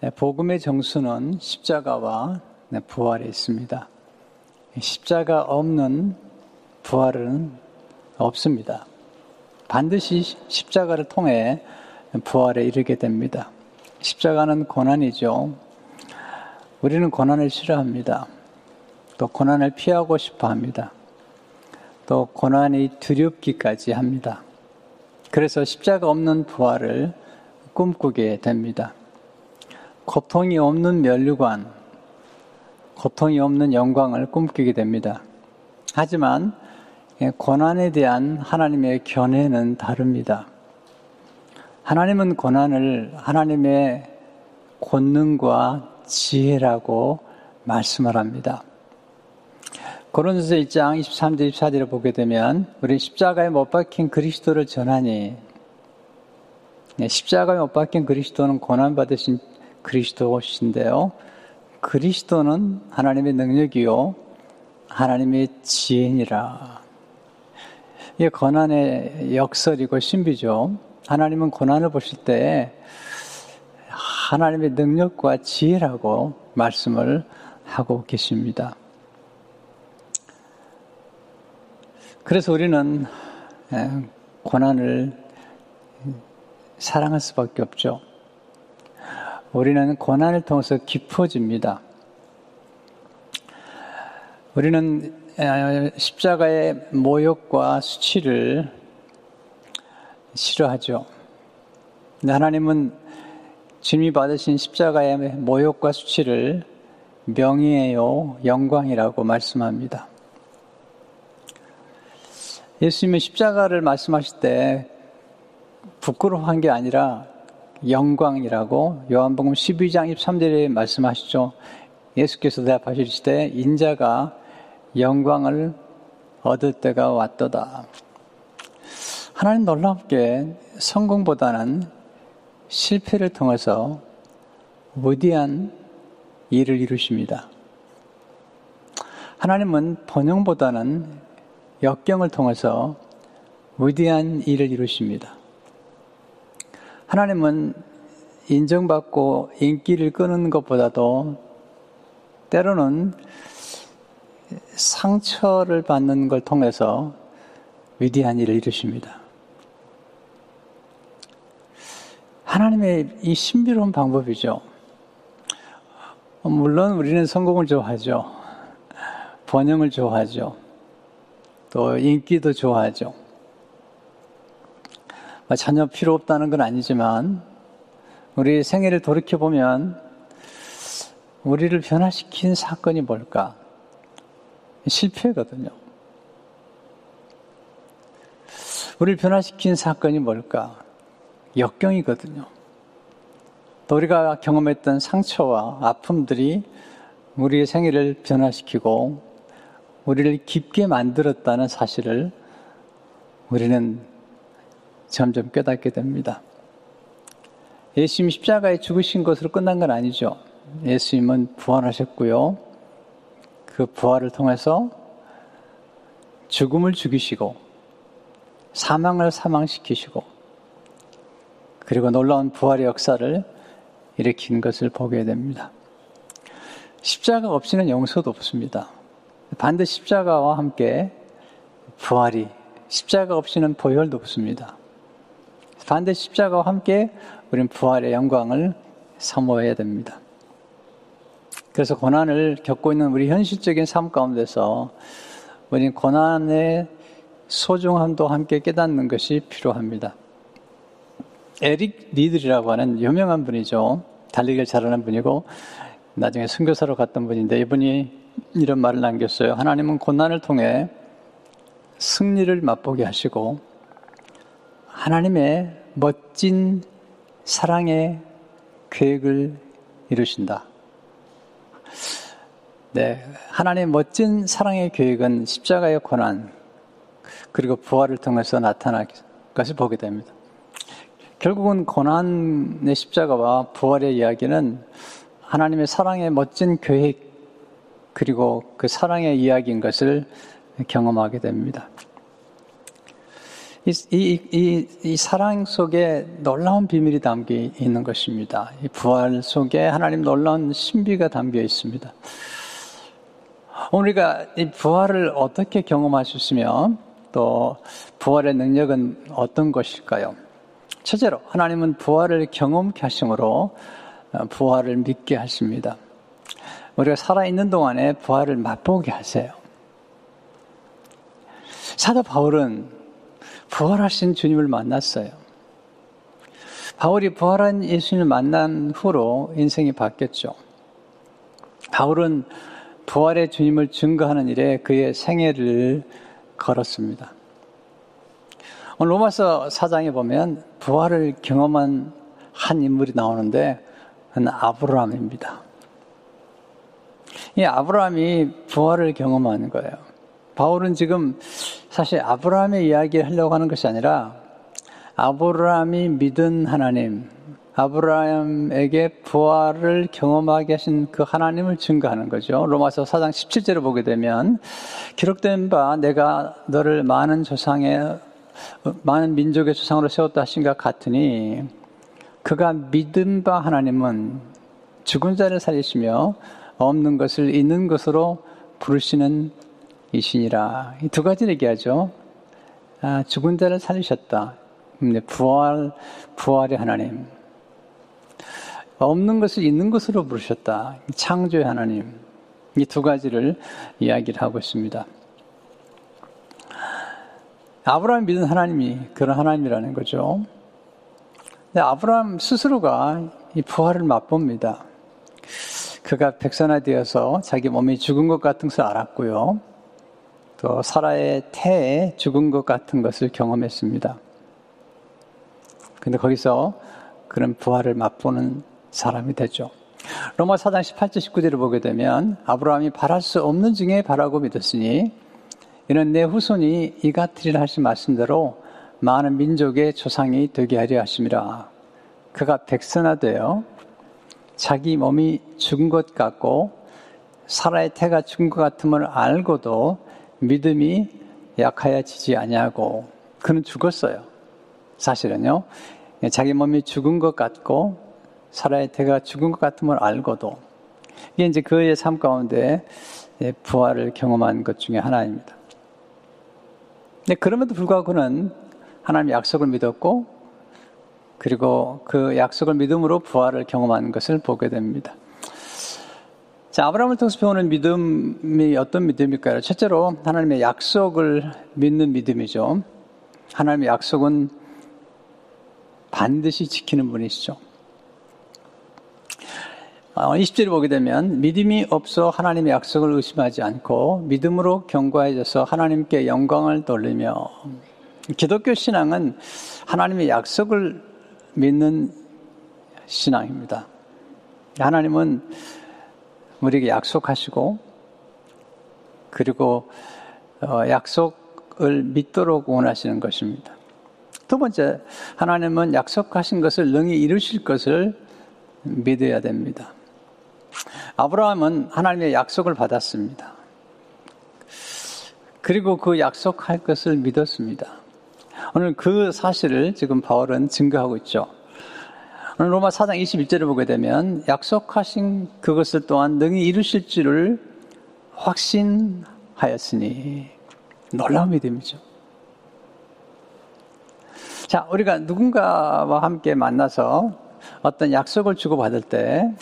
복음의 정수는 십자가와 부활에 있습니다. 십자가 없는 부활은 없습니다. 반드시 십자가를 통해 부활에 이르게 됩니다. 십자가는 고난이죠. 우리는 고난을 싫어합니다. 또 고난을 피하고 싶어 합니다. 또 고난이 두렵기까지 합니다. 그래서 십자가 없는 부활을 꿈꾸게 됩니다. 고통이 없는 면류관, 고통이 없는 영광을 꿈꾸게 됩니다. 하지만 고난에 대한 하나님의 견해는 다릅니다. 하나님은 고난을 하나님의 권능과 지혜라고 말씀을 합니다. 고린도서 1장 23절 24절을 보게 되면 우리 십자가에 못 박힌 그리스도를 전하니, 십자가에 못 박힌 그리스도는 고난받으신 그리스도신데요. 그리스도는 하나님의 능력이요 하나님의 지혜니라. 이게 고난의 역설이고 신비죠. 하나님은 고난을 보실 때 하나님의 능력과 지혜라고 말씀을 하고 계십니다. 그래서 우리는 고난을 사랑할 수밖에 없죠. 우리는 고난을 통해서 깊어집니다. 우리는 십자가의 모욕과 수치를 싫어하죠. 근데 하나님은 주님이 받으신 십자가의 모욕과 수치를 명예요, 영광이라고 말씀합니다. 예수님은 십자가를 말씀하실 때 부끄러워한 게 아니라 영광이라고 요한복음 12장 23절에 말씀하시죠. 예수께서 대답하시되 인자가 영광을 얻을 때가 왔도다. 하나님 놀랍게 성공보다는 실패를 통해서 위대한 일을 이루십니다. 하나님은 번영보다는 역경을 통해서 위대한 일을 이루십니다. 하나님은 인정받고 인기를 끄는 것보다도 때로는 상처를 받는 걸 통해서 위대한 일을 이루십니다. 하나님의 이 신비로운 방법이죠. 물론 우리는 성공을 좋아하죠. 번영을 좋아하죠. 또 인기도 좋아하죠. 전혀 필요 없다는 건 아니지만 우리 생애를 돌이켜보면 우리를 변화시킨 사건이 뭘까? 실패거든요. 우리를 변화시킨 사건이 뭘까? 역경이거든요. 또 우리가 경험했던 상처와 아픔들이 우리의 생애를 변화시키고 우리를 깊게 만들었다는 사실을 우리는 점점 깨닫게 됩니다. 예수님이 십자가에 죽으신 것으로 끝난 건 아니죠. 예수님은 부활하셨고요. 그 부활을 통해서 죽음을 죽이시고 사망을 사망시키시고 그리고 놀라운 부활의 역사를 일으킨 것을 보게 됩니다. 십자가 없이는 용서도 없습니다. 반드시 십자가와 함께 부활이, 십자가 없이는 보혈도 없습니다. 반드시 십자가와 함께 우리는 부활의 영광을 사모해야 됩니다. 그래서 고난을 겪고 있는 우리 현실적인 삶 가운데서 우리는 고난의 소중함도 함께 깨닫는 것이 필요합니다. 에릭 리들이라고 하는 유명한 분이죠. 달리기를 잘하는 분이고 나중에 선교사로 갔던 분인데 이분이 이런 말을 남겼어요. 하나님은 고난을 통해 승리를 맛보게 하시고 하나님의 멋진 사랑의 계획을 이루신다. 네, 하나님의 멋진 사랑의 계획은 십자가의 고난 그리고 부활을 통해서 나타날 것을 보게 됩니다. 결국은 고난의 십자가와 부활의 이야기는 하나님의 사랑의 멋진 계획 그리고 그 사랑의 이야기인 것을 경험하게 됩니다. 이 사랑 속에 놀라운 비밀이 담겨 있는 것입니다. 이 부활 속에 하나님 놀라운 신비가 담겨 있습니다. 우리가 이 부활을 어떻게 경험할 수 있으며 또 부활의 능력은 어떤 것일까요? 첫째로 하나님은 부활을 경험케 하심으로 부활을 믿게 하십니다. 우리가 살아있는 동안에 부활을 맛보게 하세요. 사도 바울은 부활하신 주님을 만났어요. 바울이 부활한 예수님을 만난 후로 인생이 바뀌었죠. 바울은 부활의 주님을 증거하는 일에 그의 생애를 걸었습니다. 오늘 로마서 4장에 보면 부활을 경험한 한 인물이 나오는데 그는 아브라함입니다. 이 아브라함이 부활을 경험하는 거예요. 바울은 지금 사실 아브라함의 이야기를 하려고 하는 것이 아니라 아브라함이 믿은 하나님, 아브라함에게 부활을 경험하게 하신 그 하나님을 증거하는 거죠. 로마서 4장 17절을 보게 되면 기록된 바 내가 너를 많은 민족의 조상으로 세웠다 하신 것 같으니 그가 믿은 바 하나님은 죽은 자를 살리시며 없는 것을 있는 것으로 부르시는 이시니라. 이 두 가지를 얘기하죠. 죽은 자를 살리셨다. 부활의 하나님. 없는 것을 있는 것으로 부르셨다. 창조의 하나님. 이 두 가지를 이야기를 하고 있습니다. 아브라함이 믿은 하나님이 그런 하나님이라는 거죠. 근데 아브라함 스스로가 이 부활을 맛봅니다. 그가 백선화되어서 자기 몸이 죽은 것 같은 것을 알았고요. 또 사라의 태에 죽은 것 같은 것을 경험했습니다. 근데 거기서 그런 부활을 맛보는 사람이 되죠. 로마 4장 18절 19절을 보게 되면 아브라함이 바랄 수 없는 중에 바라고 믿었으니 이는 내 후손이 이 같으리라 하신 말씀대로 많은 민족의 조상이 되게 하려 하심이라. 그가 백선화되어 자기 몸이 죽은 것 같고 사라의 태가 죽은 것 같음을 알고도 믿음이 약하여지지 아니하고 그는 죽었어요. 사실은요. 자기 몸이 죽은 것 같고 사라의 태가 죽은 것 같음을 알고도 이게 이제 그의 삶 가운데 부활을 경험한 것 중에 하나입니다. 근데 그럼에도 불구하고 그는 하나님의 약속을 믿었고 그리고 그 약속을 믿음으로 부활을 경험한 것을 보게 됩니다. 자, 아브라함을 통해서 배우는 믿음이 어떤 믿음일까요? 첫째로 하나님의 약속을 믿는 믿음이죠. 하나님의 약속은 반드시 지키는 분이시죠. 20절을 보게 되면 믿음이 없어 하나님의 약속을 의심하지 않고 믿음으로 견고해져서 하나님께 영광을 돌리며 기독교 신앙은 하나님의 약속을 믿는 신앙입니다. 하나님은 우리에게 약속하시고 그리고 약속을 믿도록 원하시는 것입니다. 두 번째, 하나님은 약속하신 것을 능히 이루실 것을 믿어야 됩니다. 아브라함은 하나님의 약속을 받았습니다. 그리고 그 약속할 것을 믿었습니다. 오늘 그 사실을 지금 바울은 증거하고 있죠. 오늘 로마 4장 21절을 보게 되면 약속하신 그것을 또한 능히 이루실 줄을 확신하였으니 놀라운 믿음이죠. 자, 우리가 누군가와 함께 만나서 어떤 약속을 주고받을 때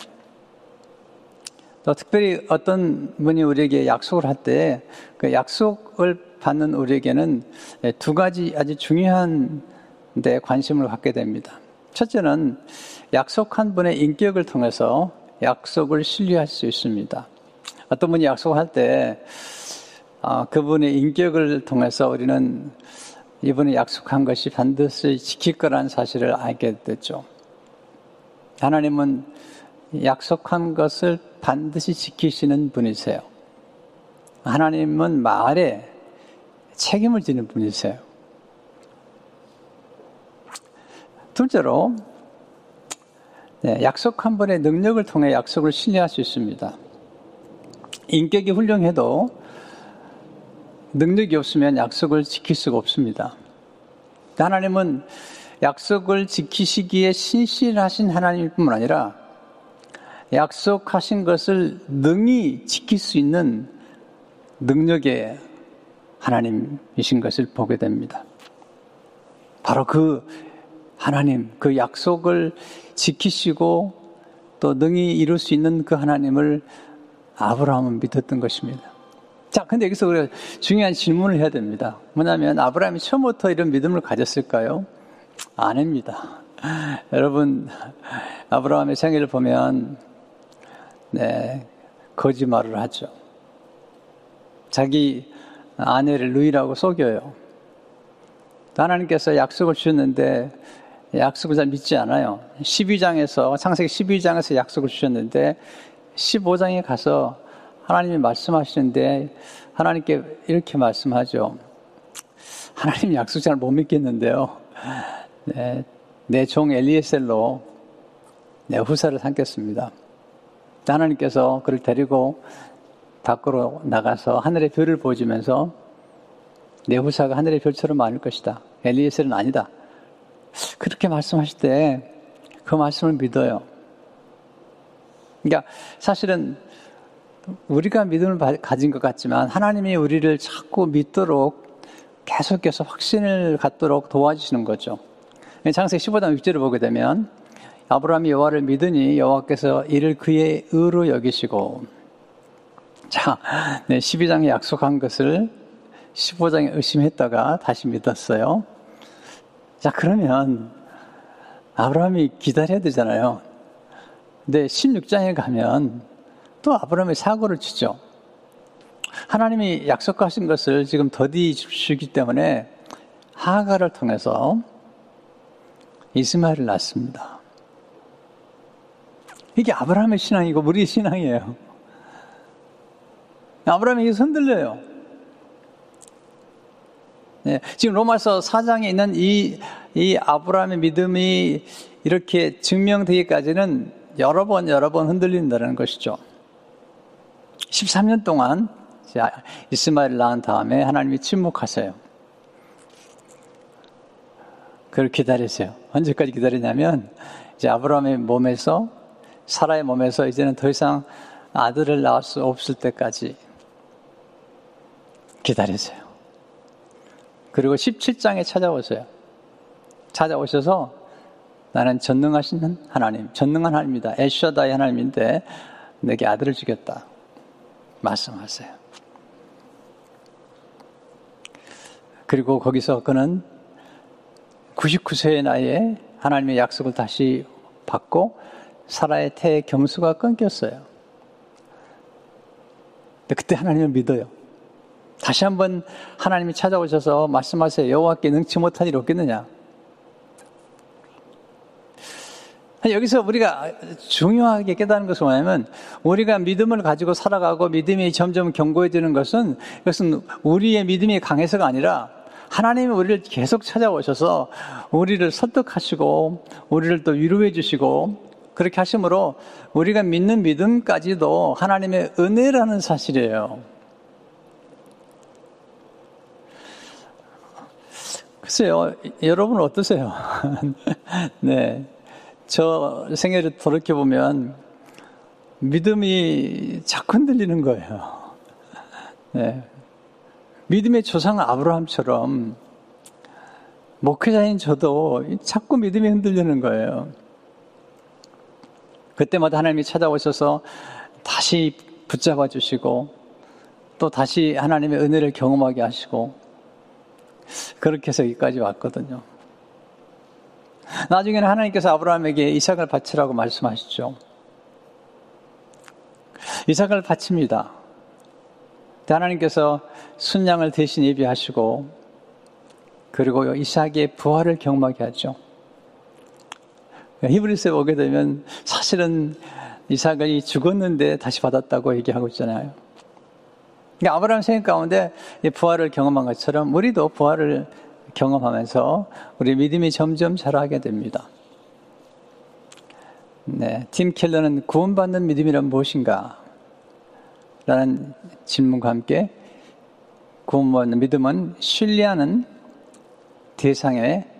또 특별히 어떤 분이 우리에게 약속을 할 때 그 약속을 받는 우리에게는 두 가지 아주 중요한 데 관심을 갖게 됩니다. 첫째는 약속한 분의 인격을 통해서 약속을 신뢰할 수 있습니다. 어떤 분이 약속할 때 그분의 인격을 통해서 우리는 이분이 약속한 것이 반드시 지킬 거라는 사실을 알게 됐죠. 하나님은 약속한 것을 반드시 지키시는 분이세요. 하나님은 말에 책임을 지는 분이세요. 둘째로 약속한 분의 능력을 통해 약속을 신뢰할 수 있습니다. 인격이 훌륭해도 능력이 없으면 약속을 지킬 수가 없습니다. 하나님은 약속을 지키시기에 신실하신 하나님일 뿐만 아니라 약속하신 것을 능히 지킬 수 있는 능력의 하나님이신 것을 보게 됩니다. 바로 그 하나님, 그 약속을 지키시고 또 능히 이룰 수 있는 그 하나님을 아브라함은 믿었던 것입니다. 자, 근데 여기서 우리가 중요한 질문을 해야 됩니다. 뭐냐면 아브라함이 처음부터 이런 믿음을 가졌을까요? 아닙니다. 여러분, 아브라함의 생애를 보면 거짓말을 하죠. 자기 아내를 누이라고 속여요. 하나님께서 약속을 주셨는데 약속을 잘 믿지 않아요. 12장에서 창세기 12장에서 약속을 주셨는데 15장에 가서 하나님이 말씀하시는데 하나님께 이렇게 말씀하죠. 하나님 약속 잘 못 믿겠는데요. 내 종 엘리에셀로 내 후사를 삼겠습니다. 하나님께서 그를 데리고 밖으로 나가서 하늘의 별을 보여주면서 내 후사가 하늘의 별처럼 많을 것이다. 엘리에셀은 아니다. 그렇게 말씀하실 때 그 말씀을 믿어요. 그러니까 사실은 우리가 믿음을 가진 것 같지만 하나님이 우리를 자꾸 믿도록 계속해서 확신을 갖도록 도와주시는 거죠. 창세기 15장 6절을 보게 되면 아브라함이 여호와를 믿으니 여호와께서 이를 그의 의로 여기시고, 자, 12장에 약속한 것을 15장에 의심했다가 다시 믿었어요. 자, 그러면 아브라함이 기다려야 되잖아요. 근데 16장에 가면 또 아브라함이 사고를 치죠. 하나님이 약속하신 것을 지금 더디 주시기 때문에 하가를 통해서 이스마엘을 낳습니다. 이게 아브라함의 신앙이고 우리의 신앙이에요. 아브라함이 이게 흔들려요. 지금 로마서 4장에 있는 이 아브라함의 믿음이 이렇게 증명되기까지는 여러 번 흔들린다는 것이죠. 13년 동안 이스마엘을 낳은 다음에 하나님이 침묵하세요. 그걸 기다리세요. 언제까지 기다리냐면 이제 아브라함의 몸에서, 사라의 몸에서 이제는 더 이상 아들을 낳을 수 없을 때까지 기다리세요. 그리고 17장에 찾아오세요. 찾아오셔서 나는 전능하신 하나님, 전능한 하나님이다. 엘샤다이 하나님인데 내게 아들을 주겠다 말씀하세요. 그리고 거기서 그는 99세의 나이에 하나님의 약속을 다시 받고 사라의 태의 겸수가 끊겼어요. 근데 그때 하나님을 믿어요. 다시 한번 하나님이 찾아오셔서 말씀하세요. 여호와께 능치 못한 일이 없겠느냐. 여기서 우리가 중요하게 깨닫는 것은 뭐냐면 우리가 믿음을 가지고 살아가고 믿음이 점점 견고해지는 것은 이것은 우리의 믿음이 강해서가 아니라 하나님이 우리를 계속 찾아오셔서 우리를 설득하시고 우리를 또 위로해 주시고 그렇게 하심으로 우리가 믿는 믿음까지도 하나님의 은혜라는 사실이에요. 글쎄요, 여러분 어떠세요? 네. 저 생애를 돌이켜보면 믿음이 자꾸 흔들리는 거예요. 네. 믿음의 조상 아브라함처럼 목회자인 저도 자꾸 믿음이 흔들리는 거예요. 그때마다 하나님이 찾아오셔서 다시 붙잡아 주시고 또 다시 하나님의 은혜를 경험하게 하시고 그렇게 해서 여기까지 왔거든요. 나중에는 하나님께서 아브라함에게 이삭을 바치라고 말씀하시죠. 이삭을 바칩니다. 하나님께서 순양을 대신 예비하시고 그리고 이삭의 부활을 경험하게 하죠. 히브리서에 오게 되면 사실은 이삭이 죽었는데 다시 받았다고 얘기하고 있잖아요. 그러니까 아브라함 생각 가운데 부활을 경험한 것처럼 우리도 부활을 경험하면서 우리 믿음이 점점 자라게 됩니다. 네, 팀 켈러는 구원받는 믿음이란 무엇인가? 라는 질문과 함께 구원받는 믿음은 신뢰하는 대상의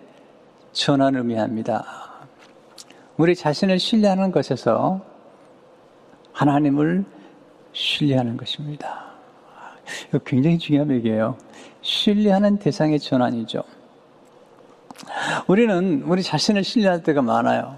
전환을 의미합니다. 우리 자신을 신뢰하는 것에서 하나님을 신뢰하는 것입니다. 이거 굉장히 중요한 얘기예요. 신뢰하는 대상의 전환이죠. 우리는 우리 자신을 신뢰할 때가 많아요.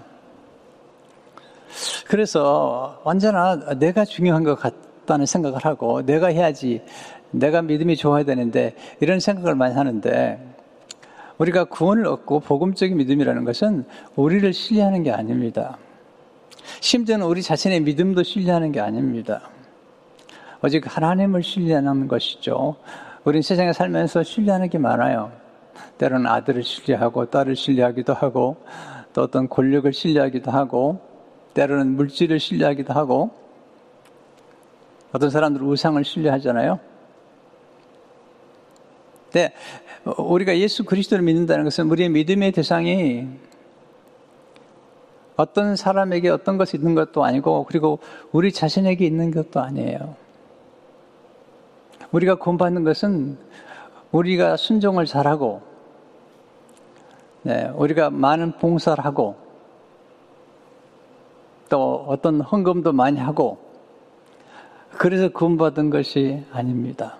그래서 언제나 내가 중요한 것 같다는 생각을 하고 내가 해야지, 내가 믿음이 좋아야 되는데 이런 생각을 많이 하는데, 우리가 구원을 얻고 복음적인 믿음이라는 것은 우리를 신뢰하는 게 아닙니다. 심지어는 우리 자신의 믿음도 신뢰하는 게 아닙니다. 오직 하나님을 신뢰하는 것이죠. 우리는 세상에 살면서 신뢰하는 게 많아요. 때로는 아들을 신뢰하고 딸을 신뢰하기도 하고, 또 어떤 권력을 신뢰하기도 하고, 때로는 물질을 신뢰하기도 하고, 어떤 사람들은 우상을 신뢰하잖아요. 근데 우리가 예수 그리스도를 믿는다는 것은 우리의 믿음의 대상이 어떤 사람에게 어떤 것이 있는 것도 아니고, 그리고 우리 자신에게 있는 것도 아니에요. 우리가 구원받는 것은 우리가 순종을 잘하고, 우리가 많은 봉사를 하고, 또 어떤 헌금도 많이 하고, 그래서 구원받은 것이 아닙니다.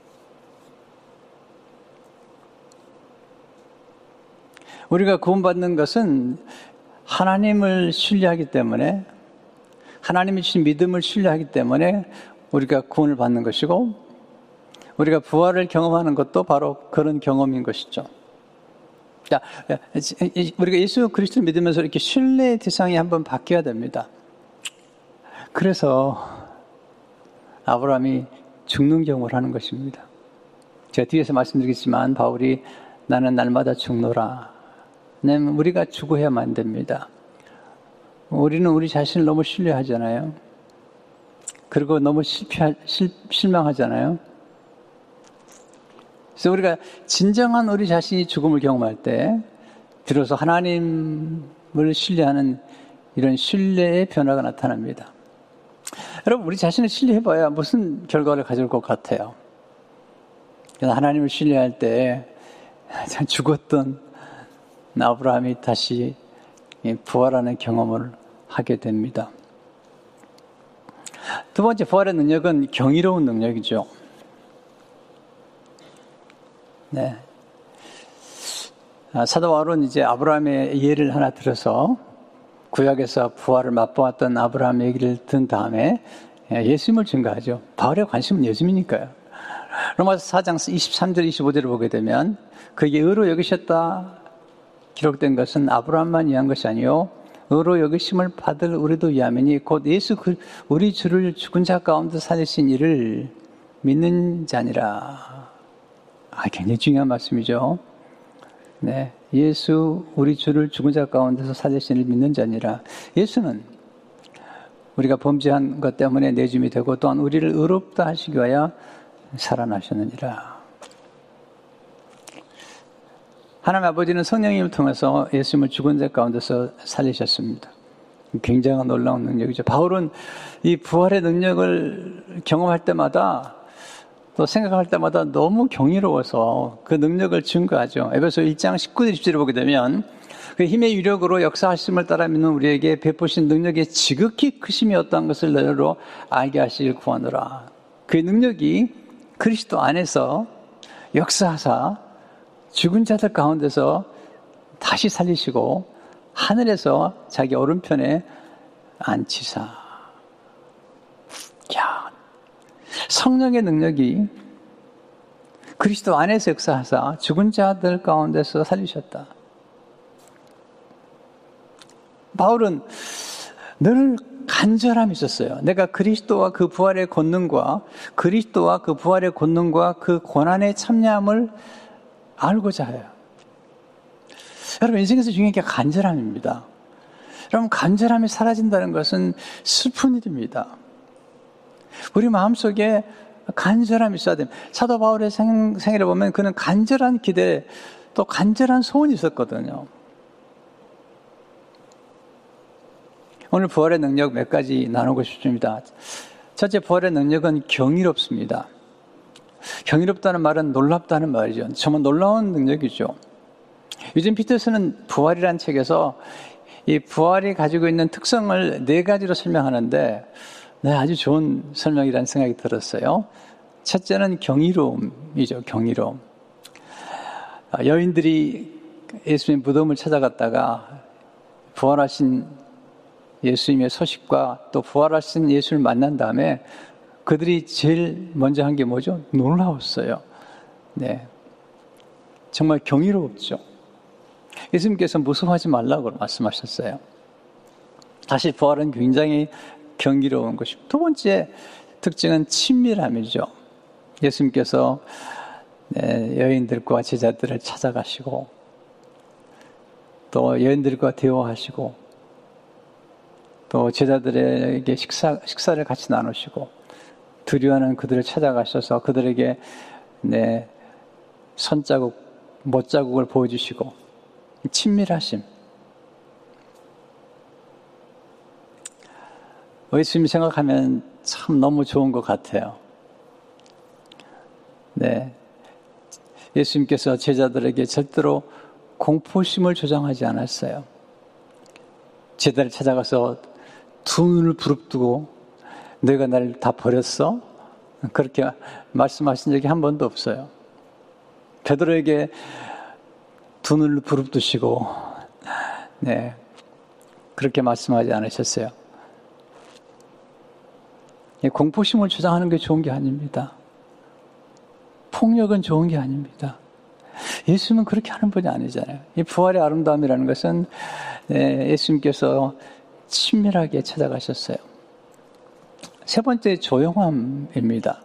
우리가 구원받는 것은 하나님을 신뢰하기 때문에, 하나님이 주신 믿음을 신뢰하기 때문에 우리가 구원을 받는 것이고, 우리가 부활을 경험하는 것도 바로 그런 경험인 것이죠. 자, 우리가 예수 그리스도를 믿으면서 이렇게 신뢰의 대상이 한번 바뀌어야 됩니다. 그래서 아브라함이 죽는 경험을 하는 것입니다. 제가 뒤에서 말씀드리겠지만 바울이 나는 날마다 죽노라. 우리가 죽어야만 됩니다. 우리는 우리 자신을 너무 신뢰하잖아요. 그리고 너무 실망하잖아요. 그래서 우리가 진정한 우리 자신이 죽음을 경험할 때 비로소 하나님을 신뢰하는 이런 신뢰의 변화가 나타납니다. 여러분, 우리 자신을 신뢰해봐야 무슨 결과를 가져올 것 같아요? 하나님을 신뢰할 때 죽었던 아브라함이 다시 부활하는 경험을 하게 됩니다. 두 번째 부활의 능력은 경이로운 능력이죠. 네. 사도 바울은 이제 아브라함의 예를 하나 들어서 구약에서 부활을 맛보았던 아브라함 얘기를 든 다음에 예수님을 증거하죠. 바울의 관심은 예수님이니까요. 로마서 4장 23절 25절을 보게 되면 그에게 의로 여기셨다 기록된 것은 아브라함만 위한 것이 아니요 의로 여기심을 받을 우리도 위함이니 곧 예수 우리 주를 죽은 자 가운데 살리신 이를 믿는 자니라. 굉장히 중요한 말씀이죠. 네, 예수 우리 주를 죽은 자 가운데서 살리신 이를 믿는 자니라. 예수는 우리가 범죄한 것 때문에 내줌이 되고 또한 우리를 의롭다 하시기 위하여 살아나셨느니라. 하나님 아버지는 성령님을 통해서 예수님을 죽은 자 가운데서 살리셨습니다. 굉장한 놀라운 능력이죠. 바울은 이 부활의 능력을 경험할 때마다 또 생각할 때마다 너무 경이로워서 그 능력을 증거하죠. 에베소 1장 19절 20절을 보게 되면 그 힘의 위력으로 역사하심을 따라 믿는 우리에게 베푸신 능력의 지극히 크심이 어떠한 것을 너희로 알게 하시길 구하노라. 그 능력이 그리스도 안에서 역사하사 죽은 자들 가운데서 다시 살리시고 하늘에서 자기 오른편에 앉히사. 야, 성령의 능력이 그리스도 안에서 역사하사 죽은 자들 가운데서 살리셨다. 바울은 늘 간절함이 있었어요. 내가 그리스도와 그 부활의 권능과 그리스도와 그 부활의 권능과 그 고난의 참여함을 알고자 해요. 여러분, 인생에서 중요한 게 간절함입니다. 여러분, 간절함이 사라진다는 것은 슬픈 일입니다. 우리 마음속에 간절함이 있어야 됩니다. 사도 바울의 생애를 보면 그는 간절한 기대, 또 간절한 소원이 있었거든요. 오늘 부활의 능력 몇 가지 나누고 싶습니다. 첫째, 부활의 능력은 경이롭습니다. 경이롭다는 말은 놀랍다는 말이죠. 정말 놀라운 능력이죠. 유진 피터스는 부활이라는 책에서 이 부활이 가지고 있는 특성을 4가지로 설명하는데 네, 아주 좋은 설명이라는 생각이 들었어요. 첫째는 경이로움이죠. 경이로움. 여인들이 예수님의 무덤을 찾아갔다가 부활하신 예수님의 소식과 또 부활하신 예수를 만난 다음에 그들이 제일 먼저 한 게 뭐죠? 놀라웠어요. 네, 정말 경이로웠죠. 예수님께서 무서워하지 말라고 말씀하셨어요. 다시 부활은 굉장히 경이로운 것입니다. 두 번째 특징은 친밀함이죠. 예수님께서 여인들과 제자들을 찾아가시고 또 여인들과 대화하시고 또 제자들에게 식사를 같이 나누시고 두려워하는 그들을 찾아가셔서 그들에게 손자국, 못자국을 보여주시고 친밀하심. 예수님 생각하면 참 너무 좋은 것 같아요. 네, 예수님께서 제자들에게 절대로 공포심을 조장하지 않았어요. 제자를 찾아가서 두 눈을 부릅뜨고 너희가 나를 다 버렸어? 그렇게 말씀하신 적이 한 번도 없어요. 베드로에게 두 눈을 부릅뜨시고 네, 그렇게 말씀하지 않으셨어요. 공포심을 조장하는 게 좋은 게 아닙니다. 폭력은 좋은 게 아닙니다. 예수님은 그렇게 하는 분이 아니잖아요. 이 부활의 아름다움이라는 것은 예수님께서 친밀하게 찾아가셨어요. 세 번째 조용함입니다.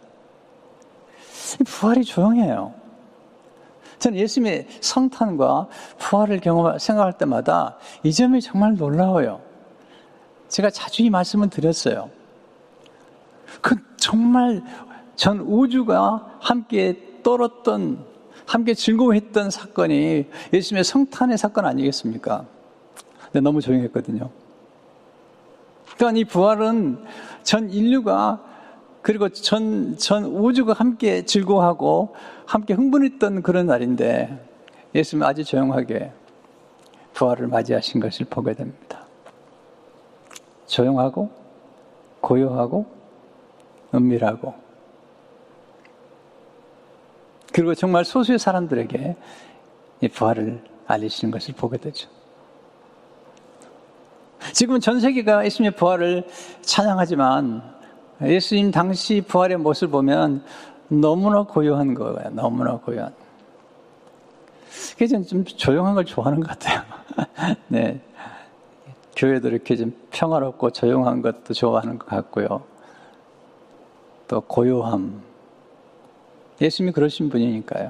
부활이 조용해요. 저는 예수님의 성탄과 부활을 생각할 때마다 이 점이 정말 놀라워요. 제가 자주 이 말씀을 드렸어요. 그 정말 전 우주가 함께 떨었던, 함께 즐거워했던 사건이 예수님의 성탄의 사건 아니겠습니까? 근데 너무 조용했거든요. 그러니까 이 부활은 전 인류가 그리고 전 우주가 함께 즐거워하고 함께 흥분했던 그런 날인데 예수님은 아주 조용하게 부활을 맞이하신 것을 보게 됩니다. 조용하고 고요하고 은밀하고 그리고 정말 소수의 사람들에게 이 부활을 알리시는 것을 보게 되죠. 지금은 전 세계가 예수님의 부활을 찬양하지만 예수님 당시 부활의 모습을 보면 너무나 고요한 거예요. 너무나 고요한. 그래서 좀 조용한 걸 좋아하는 것 같아요. 네, 교회도 이렇게 좀 평화롭고 조용한 것도 좋아하는 것 같고요. 또 고요함. 예수님이 그러신 분이니까요.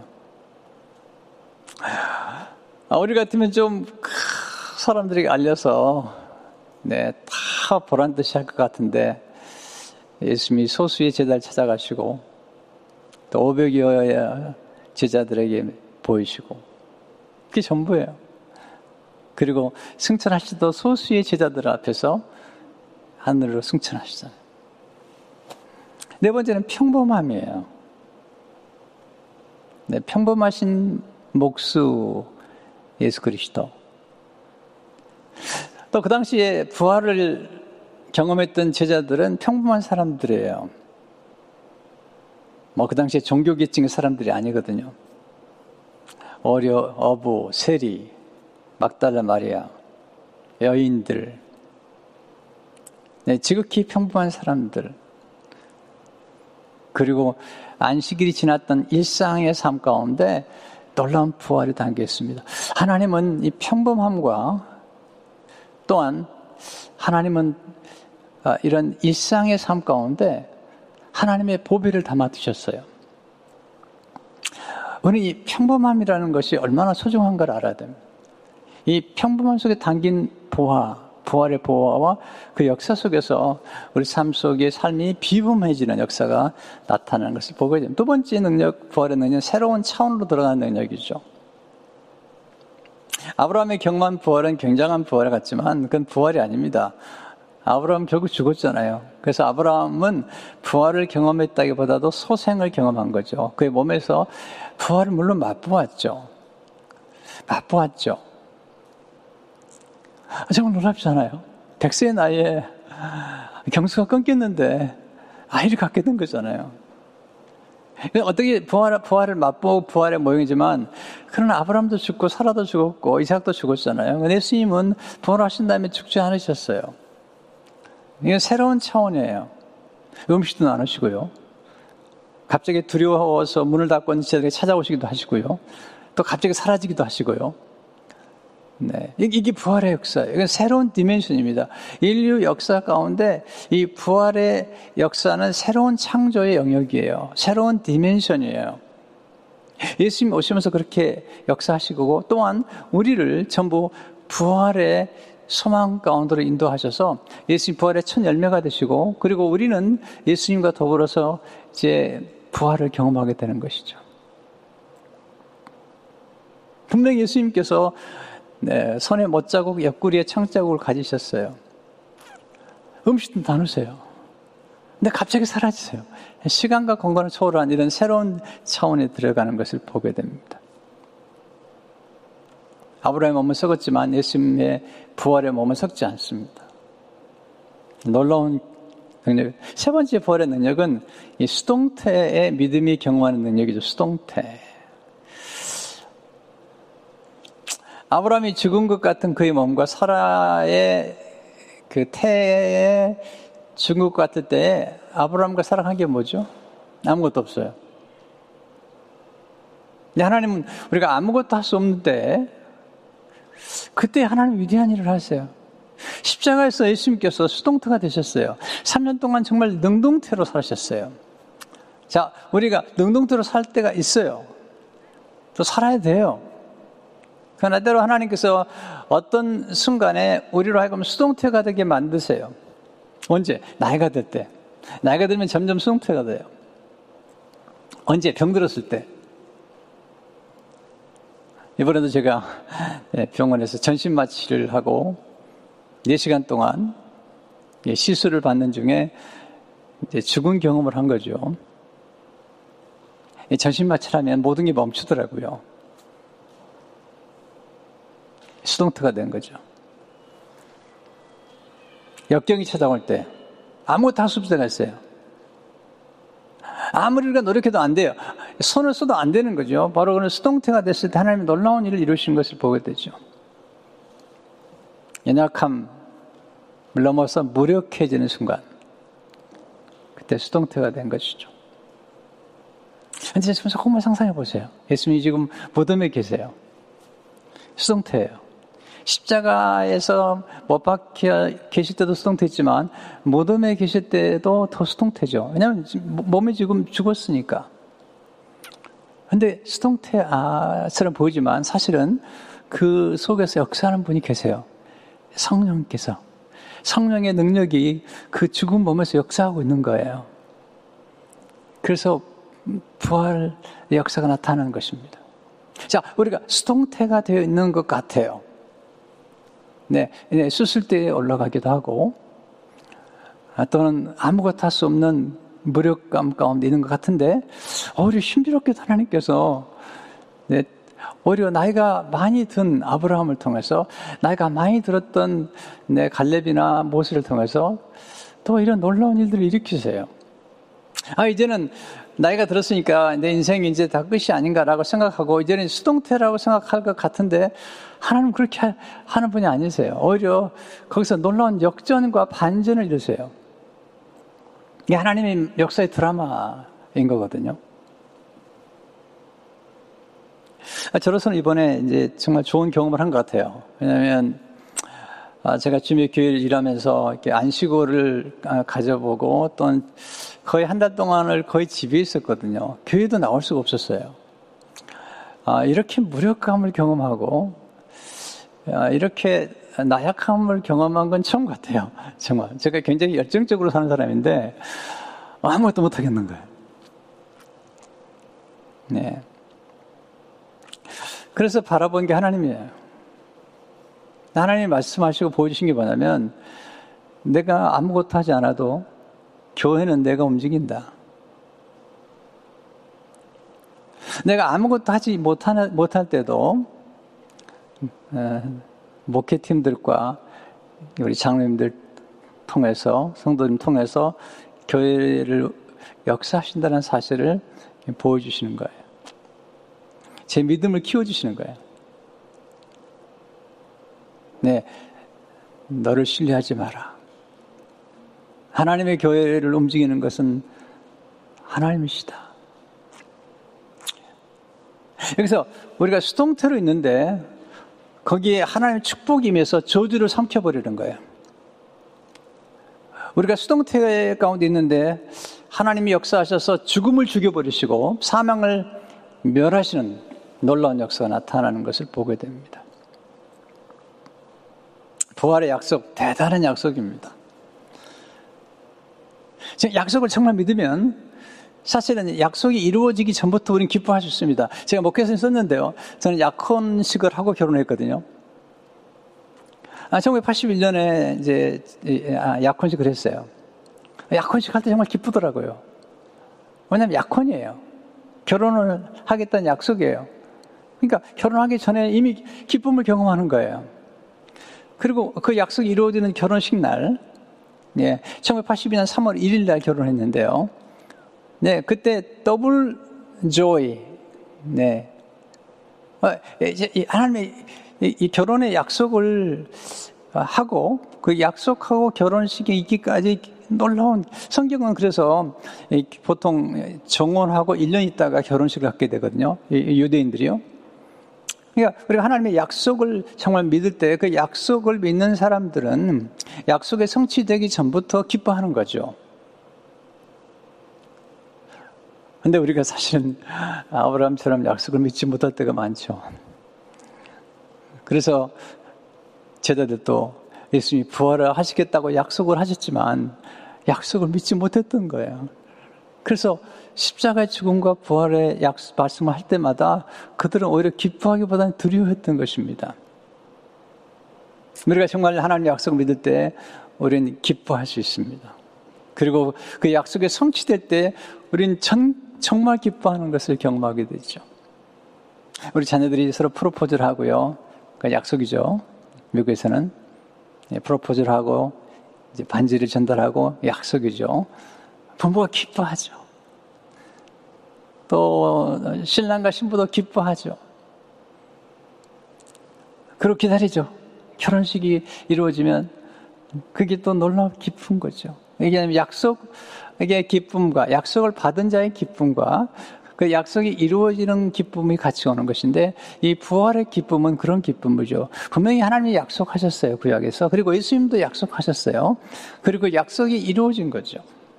우리 같으면 좀 사람들에게 알려서 다 보란 듯이 할 것 같은데 예수님이 소수의 제자를 찾아가시고 또 500여의 제자들에게 보이시고 그게 전부예요. 그리고 승천하시도 소수의 제자들 앞에서 하늘로 승천하시잖아요. 네 번째는 평범함이에요. 네, 평범하신 목수 예수 그리스도. 또 그 당시에 부활을 경험했던 제자들은 평범한 사람들이에요. 그 당시에 종교계층의 사람들이 아니거든요. 어부, 세리, 막달라 마리아, 여인들, 지극히 평범한 사람들, 그리고 안식일이 지났던 일상의 삶 가운데 놀라운 부활이 담겨 있습니다. 하나님은 이 평범함과 또한 하나님은 이런 일상의 삶 가운데 하나님의 보배를 담아 두셨어요. 우리는 이 평범함이라는 것이 얼마나 소중한 걸 알아야 됩니다. 이 평범함 속에 담긴 부활의 보화와 그 역사 속에서 우리 삶 속에 삶이 비범해지는 역사가 나타나는 것을 보게 됩니다. 두 번째 능력, 부활의 능력은 새로운 차원으로 들어가는 능력이죠. 아브라함의 경험한 부활은 굉장한 부활 같지만 그건 부활이 아닙니다. 아브라함은 결국 죽었잖아요. 그래서 아브라함은 부활을 경험했다기보다도 소생을 경험한 거죠. 그의 몸에서 부활을 물론 맛보았죠. 맛보았죠. 정말 놀랍잖아요. 100세의 나이에 경수가 끊겼는데 아이를 갖게 된 거잖아요. 어떻게 부활을 맛보고 부활의 모형이지만, 그러나 아브라함도 죽고 사라도 죽었고 이삭도 죽었잖아요. 근데 예수님은 부활하신 다음에 죽지 않으셨어요. 이건 새로운 차원이에요. 음식도 나누시고요. 갑자기 두려워서 문을 닫고 있는 제자들에게 찾아오시기도 하시고요. 또 갑자기 사라지기도 하시고요. 네, 이게 부활의 역사예요. 이건 새로운 디멘션입니다. 인류 역사 가운데 이 부활의 역사는 새로운 창조의 영역이에요. 새로운 디멘션이에요. 예수님 오시면서 그렇게 역사하시고, 또한 우리를 전부 부활의 소망 가운데로 인도하셔서 예수님 부활의 첫 열매가 되시고, 그리고 우리는 예수님과 더불어서 이제 부활을 경험하게 되는 것이죠. 분명히 예수님께서 손에 못자국, 옆구리에 창자국을 가지셨어요. 음식도 나누세요. 근데 갑자기 사라지세요. 시간과 공간을 초월한 이런 새로운 차원에 들어가는 것을 보게 됩니다. 아브라함의 몸은 썩었지만 예수님의 부활의 몸은 썩지 않습니다. 놀라운 능력. 세 번째 부활의 능력은 이 수동태의 믿음이 경험하는 능력이죠. 수동태. 아브라함이 죽은 것 같은 그의 몸과 사라의 그 태에 죽은 것 같을 때 아브라함과 사라가 한 게 뭐죠? 아무것도 없어요. 근데 하나님은 우리가 아무것도 할 수 없는데 그때 하나님 위대한 일을 하세요. 십자가에서 예수님께서 수동태가 되셨어요. 3년 동안 정말 능동태로 사셨어요. 자, 우리가 능동태로 살 때가 있어요. 또 살아야 돼요. 그러나 때로 하나님께서 어떤 순간에 우리로 하여금 수동태가 되게 만드세요. 언제? 나이가 들 때. 나이가 들면 점점 수동태가 돼요. 언제? 병들었을 때. 이번에도 제가 병원에서 전신 마취를 하고 4시간 동안 시술을 받는 중에 이제 죽은 경험을 한 거죠. 전신 마취를 하면 모든 게 멈추더라고요. 수동태가 된 거죠. 역경이 찾아올 때 아무것도 할 수 없을 때가 있어요. 아무리 우리가 노력해도 안 돼요. 손을 써도 안 되는 거죠. 바로 그런 수동태가 됐을 때 하나님이 놀라운 일을 이루신 것을 보게 되죠. 연약함을 넘어서 무력해지는 순간, 그때 수동태가 된 것이죠. 근데 조금만 상상해 보세요. 예수님이 지금 무덤에 계세요. 수동태예요. 십자가에서 못 박혀 계실 때도 수동태지만 무덤에 계실 때도 더 수동태죠. 왜냐하면 몸이 지금 죽었으니까. 근데 수동태처럼 보이지만 사실은 그 속에서 역사하는 분이 계세요. 성령께서. 성령의 능력이 그 죽은 몸에서 역사하고 있는 거예요. 그래서 부활의 역사가 나타나는 것입니다. 자, 우리가 수동태가 되어 있는 것 같아요. 네, 수술대에 올라가기도 하고, 또는 아무것도 할 수 없는 무력감 가운데 있는 것 같은데, 오히려 신비롭게 하나님께서, 네, 오히려 나이가 많이 든 아브라함을 통해서, 나이가 많이 들었던 갈렙이나 모세를 통해서 또 이런 놀라운 일들을 일으키세요. 이제는 나이가 들었으니까 내 인생이 이제 다 끝이 아닌가라고 생각하고 이제는 수동태라고 생각할 것 같은데 하나님은 그렇게 하는 분이 아니세요. 오히려 거기서 놀라운 역전과 반전을 이루세요. 이게 하나님의 역사의 드라마인 거거든요. 저로서는 이번에 이제 정말 좋은 경험을 한 것 같아요. 왜냐하면 제가 주님의 교회를 일하면서 이렇게 안식월을 가져보고 또 거의 한 달 동안을 거의 집에 있었거든요. 교회도 나올 수가 없었어요. 이렇게 무력감을 경험하고 이렇게 나약함을 경험한 건 처음 같아요. 정말 제가 굉장히 열정적으로 사는 사람인데 아무것도 못하겠는 거예요. 네. 그래서 바라본 게 하나님이에요. 하나님이 말씀하시고 보여주신 게 뭐냐면 내가 아무것도 하지 않아도 교회는 내가 움직인다. 내가 아무것도 하지 못할 때도 목회팀들과 우리 장로님들 통해서, 성도님 통해서 교회를 역사하신다는 사실을 보여주시는 거예요. 제 믿음을 키워주시는 거예요. 네, 너를 신뢰하지 마라. 하나님의 교회를 움직이는 것은 하나님이시다. 여기서 우리가 수동태로 있는데 거기에 하나님의 축복이 임해서 저주를 삼켜버리는 거예요. 우리가 수동태 가운데 있는데 하나님이 역사하셔서 죽음을 죽여버리시고 사망을 멸하시는 놀라운 역사가 나타나는 것을 보게 됩니다. 부활의 약속, 대단한 약속입니다. 약속을 정말 믿으면 사실은 약속이 이루어지기 전부터 우리는 기뻐할 수 있습니다. 제가 목회에서 썼는데요. 저는 약혼식을 하고 결혼했거든요. 1981년에 이제 약혼식을 했어요. 약혼식 할 때 정말 기쁘더라고요. 왜냐하면 약혼이에요. 결혼을 하겠다는 약속이에요. 그러니까 결혼하기 전에 이미 기쁨을 경험하는 거예요. 그리고 그 약속이 이루어지는 결혼식 날, 1982년 3월 1일 날 결혼했는데요. 네, 그때 더블 조이, 하나님의 이 결혼의 약속을 하고 그 약속하고 결혼식에 있기까지 놀라운, 성경은 그래서 보통 정혼하고 1년 있다가 결혼식을 갖게 되거든요. 유대인들이요. 그러니까 우리가 하나님의 약속을 정말 믿을 때 그 약속을 믿는 사람들은 약속이 성취되기 전부터 기뻐하는 거죠. 근데 우리가 사실은 아브라함처럼 약속을 믿지 못할 때가 많죠. 그래서 제자들도 예수님이 부활을 하시겠다고 약속을 하셨지만 약속을 믿지 못했던 거예요. 그래서 십자가의 죽음과 부활의 말씀을 할 때마다 그들은 오히려 기뻐하기보다는 두려워했던 것입니다. 우리가 정말 하나님의 약속을 믿을 때 우리는 기뻐할 수 있습니다. 그리고 그 약속이 성취될 때 우리는 정말 기뻐하는 것을 경험하게 되죠. 우리 자녀들이 서로 프로포즈를 하고요. 그 약속이죠. 미국에서는 프로포즈를 하고 이제 반지를 전달하고 약속이죠. 부모가 기뻐하죠. 또 신랑과 신부도 기뻐하죠. 그리고 기다리죠. 결혼식이 이루어지면 그게 또 놀라운 기쁜 거죠. 이게 약속의 기쁨과 약속을 받은 자의 기쁨과 그 약속이 이루어지는 기쁨이 같이 오는 것인데 이 부활의 기쁨은 그런 기쁨이죠. 분명히 하나님이 약속하셨어요. 구약에서. 그리고 예수님도 약속하셨어요. 그리고 약속이 이루어진 거죠.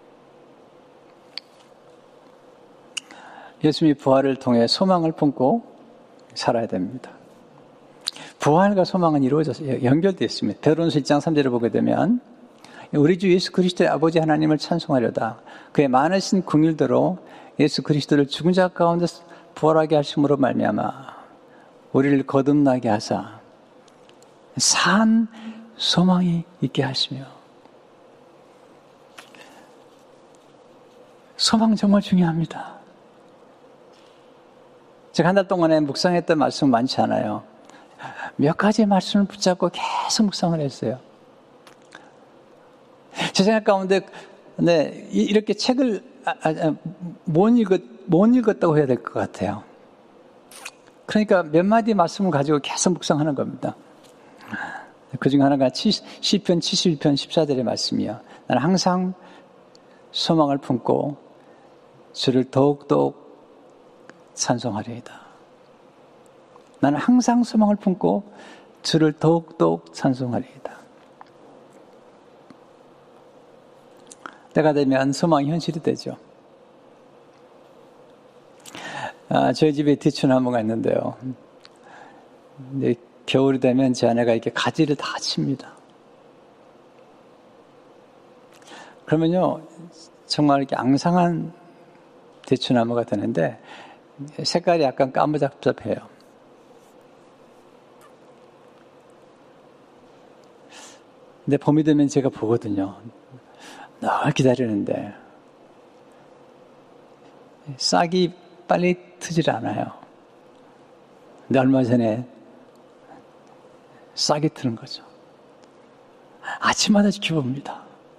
예수님이 부활을 통해 소망을 품고 살아야 됩니다. 부활과 소망은 이루어져서 연결되어 있습니다. 베드로전서 1장 3절을 보게 되면 우리 주 예수 그리스도의 아버지 하나님을 찬송하려다 그의 많으신 긍휼대로 예수 그리스도를 죽은 자 가운데 부활하게 하심으로 말미암아 우리를 거듭나게 하사 산 소망이 있게 하시며. 소망 정말 중요합니다. 제가 한 달 동안에 묵상했던 말씀 많지 않아요. 몇 가지 말씀을 붙잡고 계속 묵상을 했어요. 제 생각 가운데 이렇게 책을 못 읽었다고 해야 될 것 같아요. 그러니까 몇 마디 말씀을 가지고 계속 묵상하는 겁니다. 그중 하나가 시편 71편 14절의 말씀이요. 나는 항상 소망을 품고 주를 더욱더욱 찬송하리이다. 나는 항상 소망을 품고 주를 더욱더욱 찬송하리이다. 때가 되면 소망이 현실이 되죠. 저희 집에 대추나무가 있는데요. 근데 겨울이 되면 제 아내가 이렇게 가지를 다 칩니다. 그러면요, 정말 이렇게 앙상한 대추나무가 되는데 색깔이 약간 까무잡잡해요. 근데 봄이 되면 제가 보거든요. 늘 기다리는데 싹이 빨리 트질 않아요. 근데 얼마 전에 싹이 트는 거죠. 아침마다 지켜봅니다.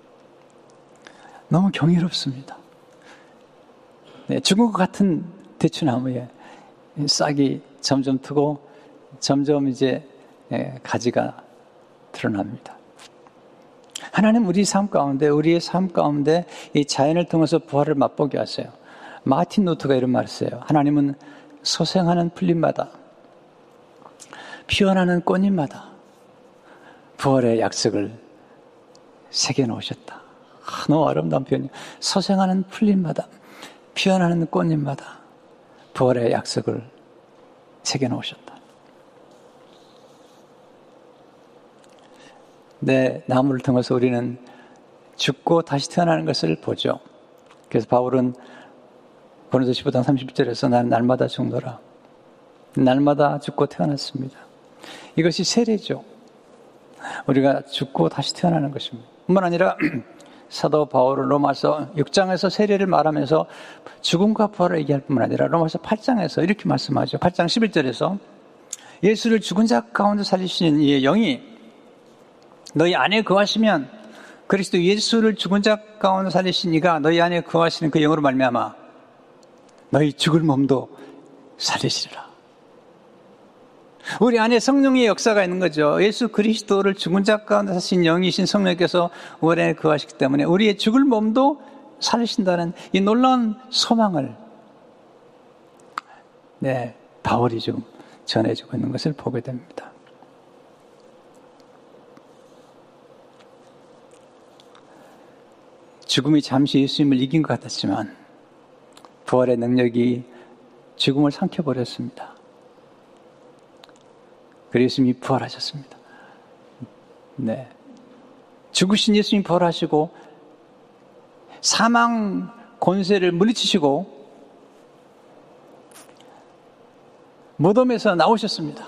너무 경이롭습니다. 네, 죽은 것 같은 대추나무에 싹이 점점 트고 점점 이제 가지가 드러납니다. 하나님 우리의 삶 가운데 이 자연을 통해서 부활을 맛보게 하세요. 마틴 루터가 이런 말을 했어요. 하나님은 소생하는 풀잎마다 피어나는 꽃잎마다 부활의 약속을 새겨놓으셨다. 너무 아름다운 표현이에요. 소생하는 풀잎마다 피어나는 꽃잎마다 부활의 약속을 새겨놓으셨다. 내 나무를 통해서 우리는 죽고 다시 태어나는 것을 보죠. 그래서 바울은 고린도서 15장 30절에서 나는 날마다 죽노라. 날마다 죽고 태어났습니다. 이것이 세례죠. 우리가 죽고 다시 태어나는 것입니다. 뿐만 아니라 사도 바울은 로마서 6장에서 세례를 말하면서 죽음과 부활을 얘기할 뿐만 아니라 로마서 8장에서 이렇게 말씀하죠. 8장 11절에서 예수를 죽은 자 가운데 살리시는 이의 영이 너희 안에 거하시면 그리스도 예수를 죽은 자 가운데 살리신 이가 너희 안에 거하시는 그 영으로 말미암아 너희 죽을 몸도 살리시리라. 우리 안에 성령의 역사가 있는 거죠. 예수 그리스도를 죽은 자 가운데 사신 영이신 성령께서 우리 안에 거하시기 때문에 우리의 죽을 몸도 살리신다는 이 놀라운 소망을 바울이 좀 전해주고 있는 것을 보게 됩니다. 죽음이 잠시 예수님을 이긴 것 같았지만 부활의 능력이 죽음을 삼켜버렸습니다. 그래서 예수님이 부활하셨습니다. 네. 죽으신 예수님이 부활하시고 사망 권세를 물리치시고 무덤에서 나오셨습니다.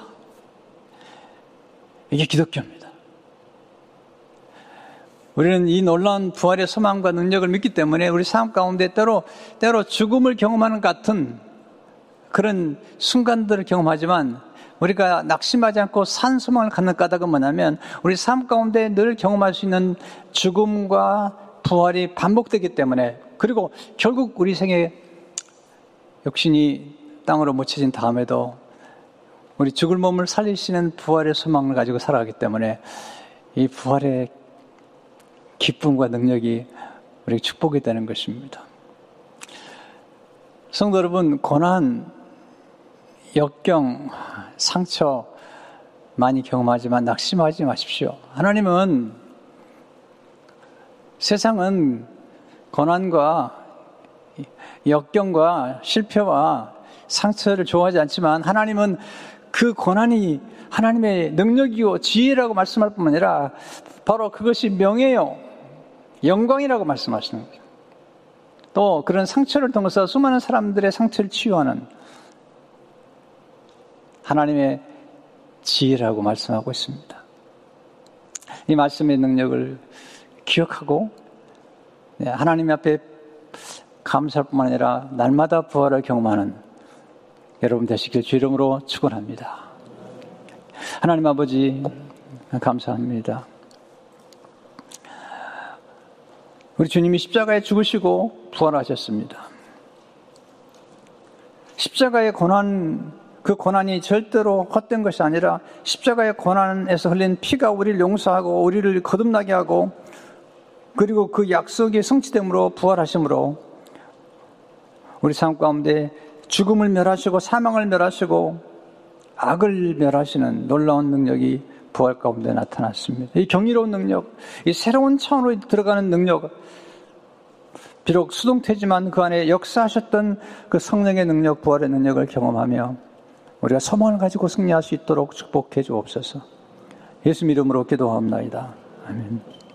이게 기독교입니다. 우리는 이 놀라운 부활의 소망과 능력을 믿기 때문에 우리 삶 가운데 때로 죽음을 경험하는 같은 그런 순간들을 경험하지만 우리가 낙심하지 않고 산 소망을 갖는 까닭은 뭐냐면 우리 삶 가운데 늘 경험할 수 있는 죽음과 부활이 반복되기 때문에 그리고 결국 우리 생에 육신이 땅으로 묻혀진 다음에도 우리 죽을 몸을 살리시는 부활의 소망을 가지고 살아가기 때문에 이 부활의 기쁨과 능력이 우리에게 축복이 되는 것입니다. 성도 여러분, 고난, 역경, 상처 많이 경험하지만 낙심하지 마십시오. 하나님은 세상은 고난과 역경과 실패와 상처를 좋아하지 않지만 하나님은 그 고난이 하나님의 능력이요 지혜라고 말씀할 뿐만 아니라 바로 그것이 명예요 영광이라고 말씀하시는 거죠. 또 그런 상처를 통해서 수많은 사람들의 상처를 치유하는 하나님의 지혜라고 말씀하고 있습니다. 이 말씀의 능력을 기억하고 하나님 앞에 감사할 뿐만 아니라 날마다 부활을 경험하는 여러분 되시길 주 이름으로 축원합니다. 하나님 아버지 감사합니다. 우리 주님이 십자가에 죽으시고 부활하셨습니다. 십자가의 고난, 그 고난이 절대로 헛된 것이 아니라 십자가의 고난에서 흘린 피가 우리를 용서하고 우리를 거듭나게 하고 그리고 그 약속이 성취됨으로 부활하심으로 우리 삶 가운데 죽음을 멸하시고 사망을 멸하시고 악을 멸하시는 놀라운 능력이 부활 가운데 나타났습니다. 이 경이로운 능력, 이 새로운 차원으로 들어가는 능력, 비록 수동태지만 그 안에 역사하셨던 그 성령의 능력, 부활의 능력을 경험하며 우리가 소망을 가지고 승리할 수 있도록 축복해 주옵소서. 예수 이름으로 기도하옵나이다. 아멘.